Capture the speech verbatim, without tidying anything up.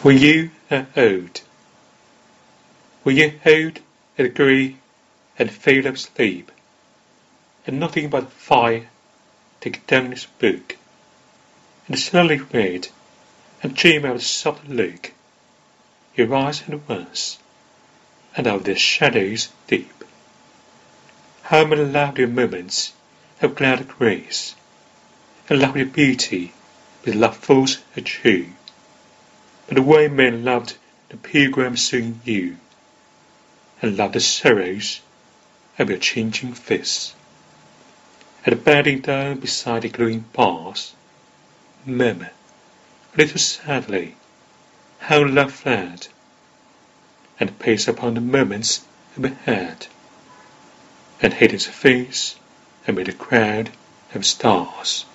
When you are old, when you're old and grey and fail of sleep, and nothing but fire, take down this book, and slowly read, and dream out a soft look, your eyes at once, and out of their shadows deep. How many lovely moments of glad grace, and lovely beauty with love falls are true. But the way men loved the pilgrim soon knew, and loved the sorrows of your changing face. And bending down beside the glowing bars, murmur, a little sadly, how love fled, and pace upon the moments overhead, and hid his face amid a crowd of stars.